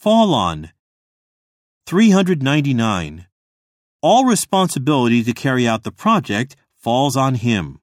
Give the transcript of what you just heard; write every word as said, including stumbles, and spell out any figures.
fall on. three hundred ninety-nine. All responsibility to carry out the project falls on him.